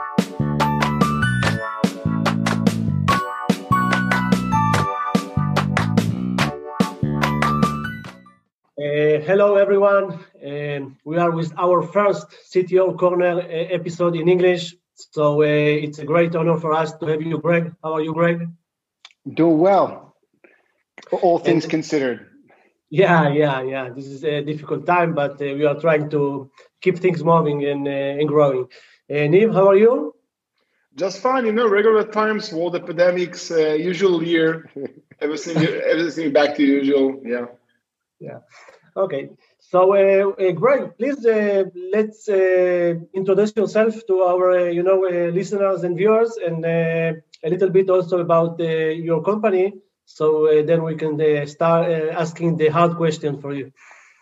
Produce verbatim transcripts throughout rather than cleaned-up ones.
Uh, hello, everyone. Um, we are with our first C T O Corner uh, episode in English. So uh, it's a great honor for us to have you, Greg. How are you, Greg? Doing well, all things And, considered. Yeah, yeah, yeah. This is a difficult time, but uh, we are trying to keep things moving and, uh, and growing. Uh, Niv, how are you? Just fine, you know, regular times, world epidemics, uh, usual year, everything, everything back to usual. Yeah. Yeah. Okay. So, uh, uh, Greg, please uh, let's uh, introduce yourself to our, uh, you know, uh, listeners and viewers, and uh, a little bit also about uh, your company. So uh, then we can uh, start uh, asking the hard question for you.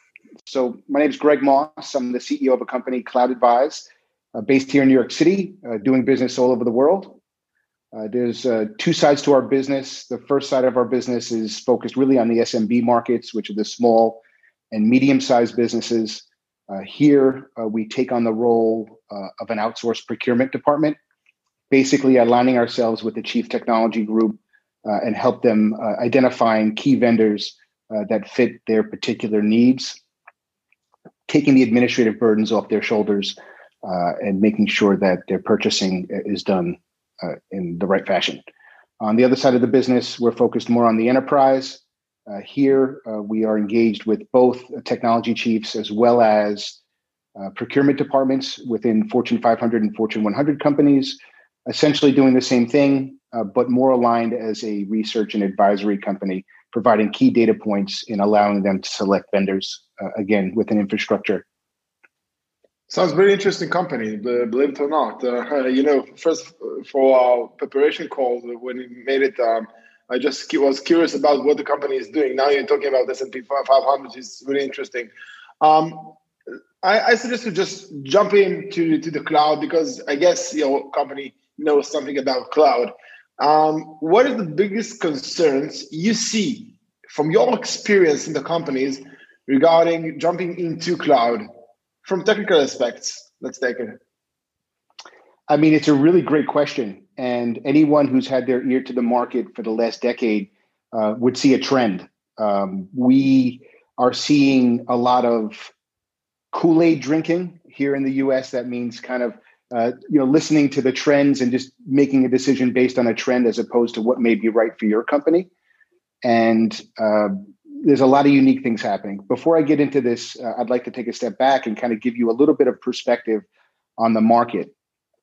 So my name is Greg Moss. I'm the C E O of a company, Cloud Advise, uh, based here in New York City, uh, doing business all over the world. Uh, there's uh, two sides to our business. The first side of our business is focused really on the S M B markets, which are the small and medium-sized businesses. Uh, here, uh, we take on the role uh, of an outsourced procurement department, basically aligning ourselves with the chief technology group uh, and help them uh, identifying key vendors uh, that fit their particular needs, taking the administrative burdens off their shoulders uh, and making sure that their purchasing is done uh, in the right fashion. On the other side of the business, we're focused more on the enterprise. Uh, here, uh, we are engaged with both technology chiefs as well as uh, procurement departments within Fortune five hundred and Fortune one hundred companies, essentially doing the same thing, uh, but more aligned as a research and advisory company, providing key data points and allowing them to select vendors, uh, again, with an infrastructure. Sounds very interesting company, believe it or not. Uh, you know, first for our preparation call, when we made it, um, I just was curious about what the company is doing. Now you're talking about S and P five hundred, which is really interesting. Um, I, I suggest to just jump into to the cloud because I guess your company knows something about cloud. Um, what is the biggest concerns you see from your experience in the companies regarding jumping into cloud from technical aspects? Let's take it. I mean, it's a really great question. And anyone who's had their ear to the market for the last decade uh, would see a trend. Um, we are seeing a lot of Kool-Aid drinking here in the U S. That means kind of, uh, you know, listening to the trends and just making a decision based on a trend as opposed to what may be right for your company. And uh, there's a lot of unique things happening. Before I get into this, uh, I'd like to take a step back and kind of give you a little bit of perspective on the market.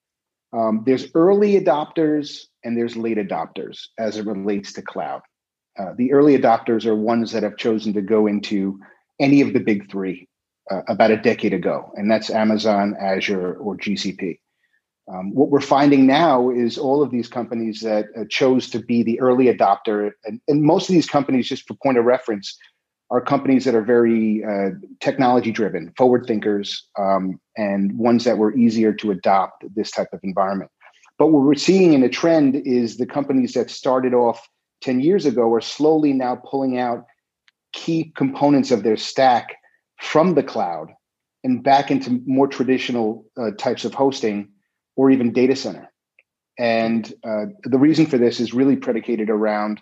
Um, there's early adopters and there's late adopters as it relates to cloud. Uh, the early adopters are ones that have chosen to go into any of the big three uh, about a decade ago, and that's Amazon, Azure, or G C P. Um, what we're finding now is all of these companies that uh, chose to be the early adopter, and, and most of these companies, just for point of reference, are companies that are very uh, technology driven, forward thinkers, um, and ones that were easier to adopt this type of environment. But what we're seeing in a trend is the companies that started off ten years ago are slowly now pulling out key components of their stack from the cloud and back into more traditional uh, types of hosting or even data center. And uh, the reason for this is really predicated around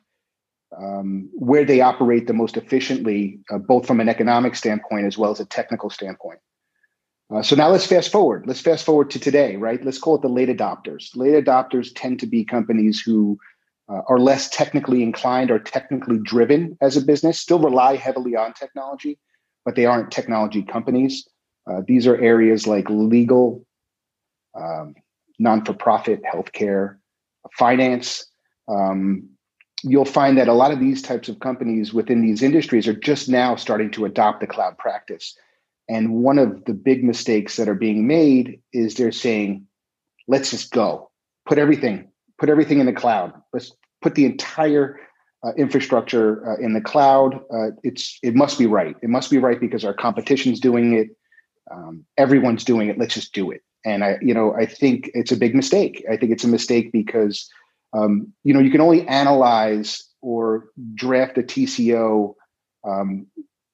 Um, where they operate the most efficiently, uh, both from an economic standpoint as well as a technical standpoint. Uh, so now let's fast forward. Let's fast forward to today, right? Let's call it the late adopters. Late adopters tend to be companies who uh, are less technically inclined or technically driven as a business, still rely heavily on technology, but they aren't technology companies. Uh, these are areas like legal, um, non-for-profit, healthcare, finance. Um, You'll find that a lot of these types of companies within these industries are just now starting to adopt the cloud practice. And one of the big mistakes that are being made is they're saying, let's just go, put everything, put everything in the cloud. Let's put the entire uh, infrastructure uh, in the cloud. Uh, it's it must be right. It must be right because our competition's doing it. Um, everyone's doing it. Let's just do it. And I, you know, I think it's a big mistake. I think it's a mistake because Um, you know, you can only analyze or draft a T C O um,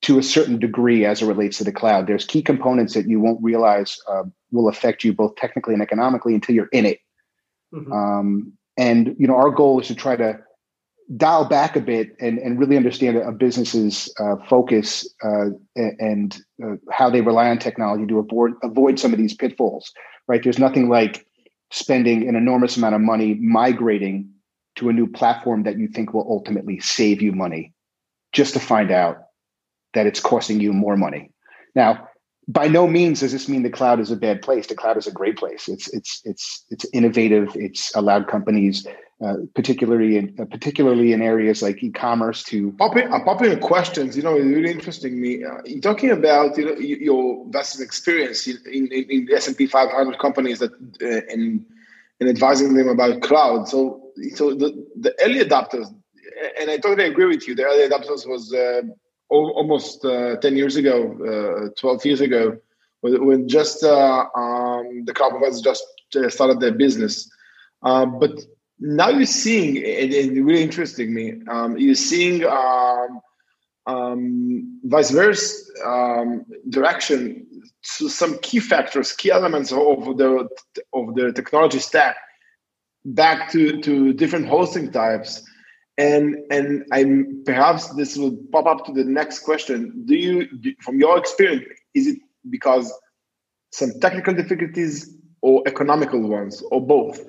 to a certain degree as it relates to the cloud. There's key components that you won't realize uh, will affect you both technically and economically until you're in it. Mm-hmm. Um, and you know, our goal is to try to dial back a bit and, and really understand a business's uh, focus uh, and uh, how they rely on technology to avoid avoid some of these pitfalls. Right? There's nothing like spending an enormous amount of money migrating to a new platform that you think will ultimately save you money, just to find out that it's costing you more money. Now, by no means does this mean the cloud is a bad place. The cloud is a great place. It's it's it's it's innovative. It's allowed companies, uh, particularly in uh, particularly in areas like e-commerce, to pop in. I'm popping in questions. You know, it's really interesting me. Uh, you're talking about you know your vast experience in in, in the S and P five hundred companies that uh, in in advising them about cloud. So so the the early adopters, and I totally agree with you. The early adopters was. Uh, Almost uh, ten years ago, uh, twelve years ago, when, when just uh, um, the cloud providers just started their business. Uh, but now you're seeing, and it really interesting me, um, you're seeing um, um, vice versa um, direction to some key factors, key elements of the of the technology stack back to, to different hosting types. And and I'm perhaps this will pop up to the next question. Do you, do, from your experience, is it because some technical difficulties or economical ones, or both?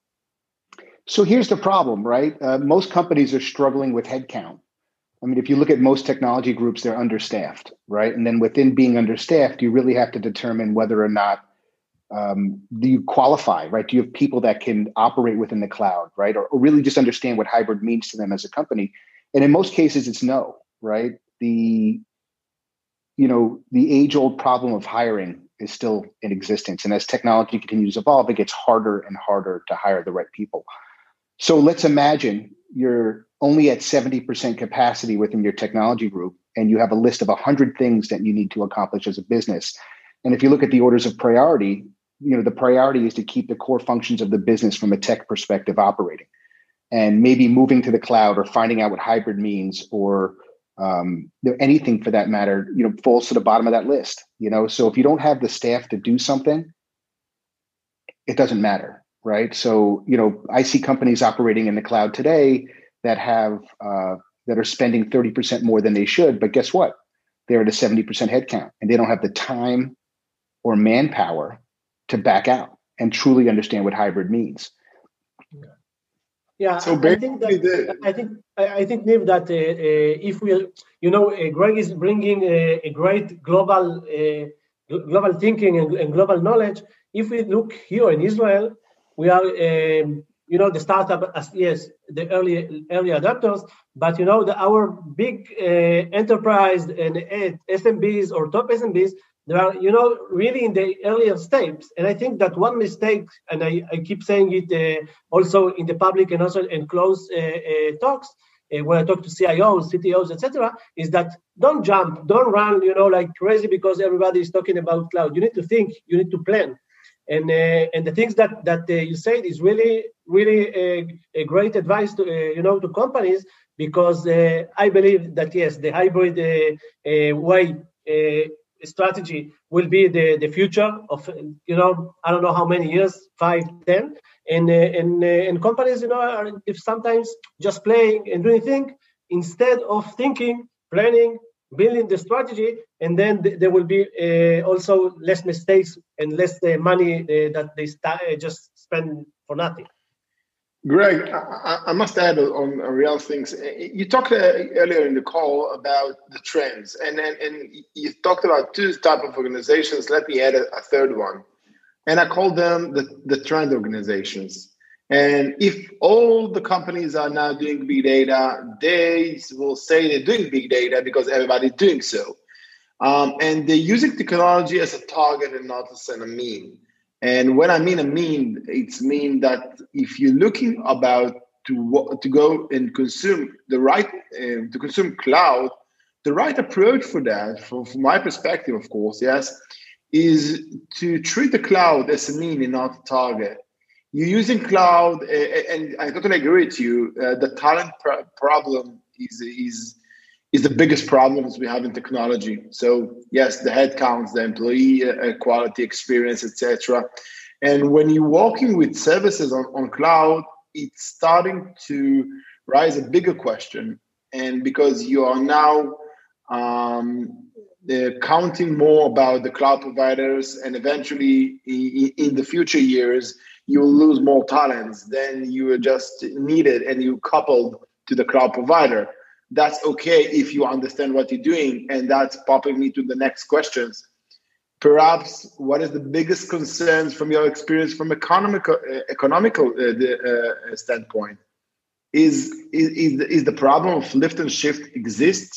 So here's the problem, right? Uh, most companies are struggling with headcount. I mean, if you look at most technology groups, they're understaffed, right? And then within being understaffed, you really have to determine whether or not Um, do you qualify, right? Do you have people that can operate within the cloud, right? Or, or really just understand what hybrid means to them as a company? And in most cases, it's no, right? The, you know, the age-old problem of hiring is still in existence. And as technology continues to evolve, it gets harder and harder to hire the right people. So let's imagine you're only at seventy percent capacity within your technology group, and you have a list of one hundred things that you need to accomplish as a business. And if you look at the orders of priority, you know, the priority is to keep the core functions of the business from a tech perspective operating, and maybe moving to the cloud or finding out what hybrid means, or um, you know, anything for that matter, you know, falls to the bottom of that list. You know, so if you don't have the staff to do something, it doesn't matter, right? So you know, I see companies operating in the cloud today that have uh, that are spending thirty percent more than they should, but guess what? They're at a seventy percent headcount, and they don't have the time or manpower to back out and truly understand what hybrid means. Yeah, so I think that the... I think I think Niv, that uh, uh, if we, you know, uh, Greg is bringing a, a great global uh, global thinking and, and global knowledge. If we look here in Israel, we are, um, you know, the startup as yes, the early early adopters, but you know, the, our big uh, enterprise and uh, S M Bs or top S M Bs. They are, you know, really in the earlier steps. And I think that one mistake, and I, I keep saying it uh, also in the public and also in close uh, uh, talks, uh, when I talk to C I Os, C T Os, et cetera, is that don't jump, don't run, you know, like crazy because everybody is talking about cloud. You need to think, you need to plan. And uh, and the things that that uh, you said is really, really a, a great advice to, uh, you know, to companies, because uh, I believe that, yes, the hybrid uh, uh, way uh, strategy will be the, the future of, you know, I don't know how many years, five, ten, and uh, and uh, and companies, you know, are if sometimes just playing and doing things instead of thinking, planning, building the strategy, and then th- there will be uh, also less mistakes and less uh, money uh, that they st- uh, just spend for nothing. Greg, I, I must add on, on real things. You talked uh, earlier in the call about the trends, and, and and you talked about two types of organizations. Let me add a, a third one, and I call them the, the trend organizations. And if all the companies are now doing big data, they will say they're doing big data because everybody's doing so, um, and they're using technology as a target and not as a mean. And when I mean a mean, it's mean that if you're looking about to to go and consume the right uh, to consume cloud, the right approach for that, from, from my perspective, of course, yes, is to treat the cloud as a mean and not a target. You're using cloud, uh, and I totally agree with you. Uh, the talent pr- problem is is is the biggest problems we have in technology. So yes, the headcounts, the employee uh, quality, experience, et cetera. And when you're working with services on, on cloud, it's starting to rise a bigger question. And because you are now um, counting more about the cloud providers, and eventually in, in the future years, you'll lose more talents than you are just needed and you coupled to the cloud provider. That's okay if you understand what you're doing. And that's popping me to the next questions. Perhaps what is the biggest concerns from your experience from economical uh, economical uh, the, uh, standpoint? Is, is, is, the, is the problem of lift and shift exists?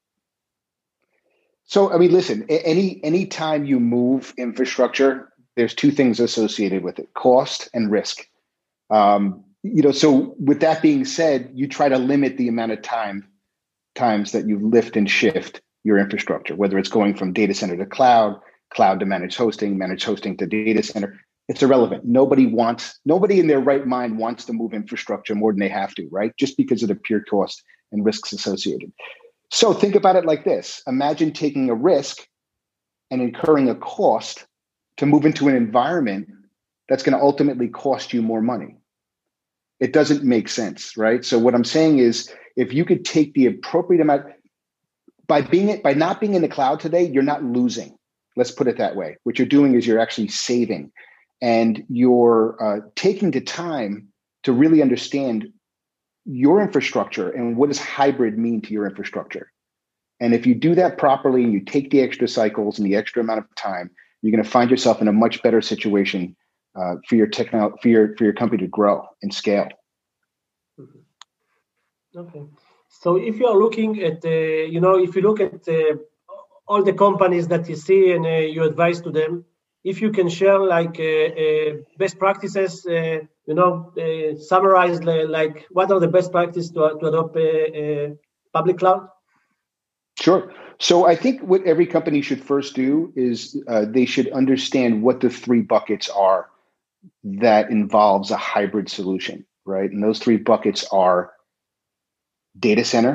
So, I mean, listen, any any time you move infrastructure, there's two things associated with it: cost and risk. Um, you know, so with that being said, you try to limit the amount of time times that you lift and shift your infrastructure, whether it's going from data center to cloud, cloud to managed hosting, managed hosting to data center. It's irrelevant. Nobody wants, nobody in their right mind wants to move infrastructure more than they have to, right? Just because of the pure cost and risks associated. So think about it like this. Imagine taking a risk and incurring a cost to move into an environment that's going to ultimately cost you more money. It doesn't make sense, right? So what I'm saying is, if you could take the appropriate amount, by being it, by not being in the cloud today, you're not losing. Let's put it that way. What you're doing is you're actually saving, and you're uh, taking the time to really understand your infrastructure and what does hybrid mean to your infrastructure. And if you do that properly and you take the extra cycles and the extra amount of time, you're going to find yourself in a much better situation uh, for your techno for your for your company to grow and scale. Mm-hmm. Okay. So if you are looking at, uh, you know, if you look at uh, all the companies that you see and uh, you advise to them, if you can share like uh, uh, best practices, uh, you know, uh, summarize uh, like what are the best practices to, to adopt uh, uh, public cloud? Sure. So I think what every company should first do is uh, they should understand what the three buckets are that involves a hybrid solution, right? And those three buckets are data center,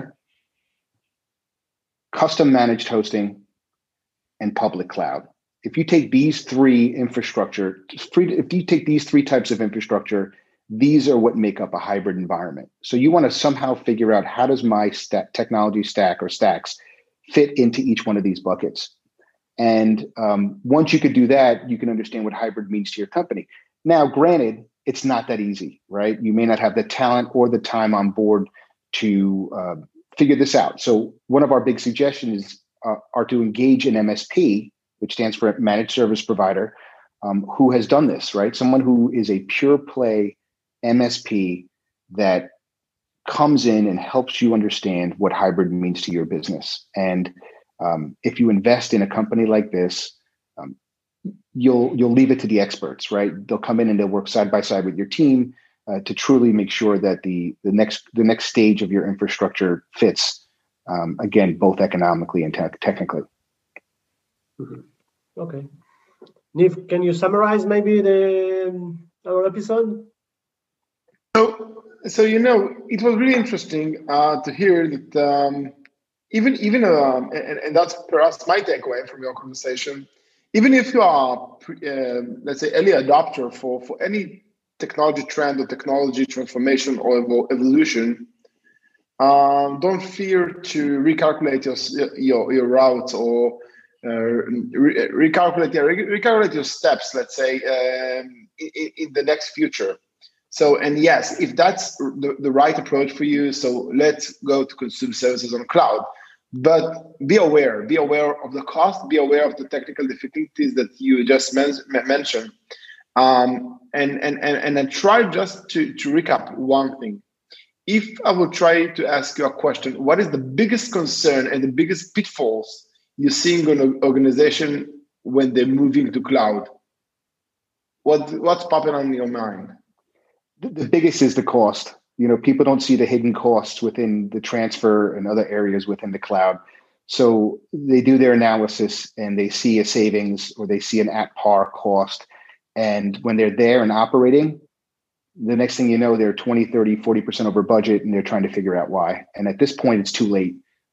custom managed hosting, and public cloud. If you take these three infrastructure, if you take these three types of infrastructure, these are what make up a hybrid environment. So you want to somehow figure out, how does my st- technology stack or stacks fit into each one of these buckets? And um, once you could do that, you can understand what hybrid means to your company. Now, granted, it's not that easy, right? You may not have the talent or the time on board to uh, figure this out. So one of our big suggestions uh, are to engage an M S P, which stands for Managed Service Provider, um, who has done this, right? Someone who is a pure play M S P that comes in and helps you understand what hybrid means to your business. And um, if you invest in a company like this, um, you'll you'll leave it to the experts, right? They'll come in and they'll work side by side with your team uh, to truly make sure that the the next the next stage of your infrastructure fits, um, again, both economically and te- technically. Mm-hmm. Okay. Niv, can you summarize maybe the our episode? So, so you know, it was really interesting uh, to hear that um, even even um, and, and that's perhaps my takeaway from your conversation. Even if you are, uh, let's say, early adopter for for any technology trend or technology transformation or evolution, um, don't fear to recalculate your your, your routes or uh, re- recalculate yeah, re- recalculate your steps. Let's say um, in, in the next future. So, and yes, if that's the, the right approach for you, so let's go to consume services on cloud. But be aware, be aware of the cost, be aware of the technical difficulties that you just men- mentioned. Um, and, and, and, and then try just to, to recap one thing. If I will try to ask you a question, what is the biggest concern and the biggest pitfalls you're seeing in an organization when they're moving to cloud? What, what's popping on your mind? The biggest is the cost. You know, people don't see the hidden costs within the transfer and other areas within the cloud. So they do their analysis and they see a savings or they see an at par cost. And when they're there and operating, the next thing you know, they're twenty, thirty, forty percent over budget and they're trying to figure out why. And at this point, it's too late.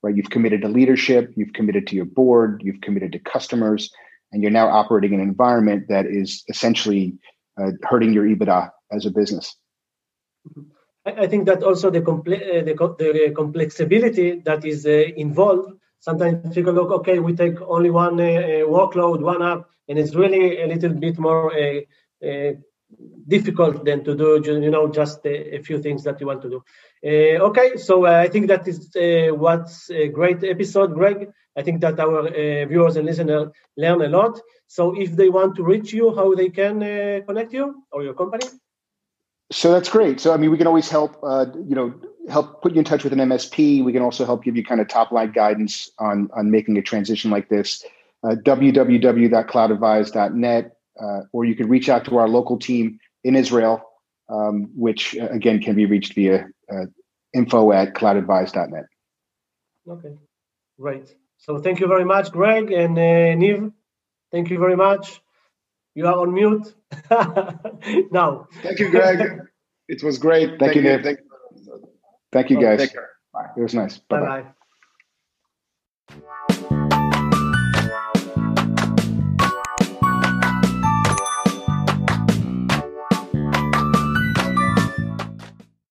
right? You've committed to leadership, you've committed to your board, you've committed to customers, and you're now operating in an environment that is essentially uh, hurting your EBITDA as a business. I think that also the, comple- uh, the, the complexibility that is uh, involved. Sometimes people look, okay, we take only one uh, workload, one app, and it's really a little bit more uh, uh, difficult than to do, you know, just a, a few things that you want to do. Uh, okay, so uh, I think that is uh, what's a great episode, Greg. I think that our uh, viewers and listeners learn a lot. So if they want to reach you, how they can uh, connect you or your company? So that's great. So, I mean, we can always help, uh, you know, help put you in touch with an M S P. We can also help give you kind of top line guidance on, on making a transition like this. Uh, w w w dot cloud advise dot net, uh, or you can reach out to our local team in Israel, um, which uh, again can be reached via uh, info at cloud advise dot net. Okay, great. So thank you very much, Greg, and uh, Niv. Thank you very much. You are on mute now. Thank you, Greg. It was great. Thank, Thank you, Niv. Thank, Thank you, guys. Take care. Bye. It was nice. Bye bye.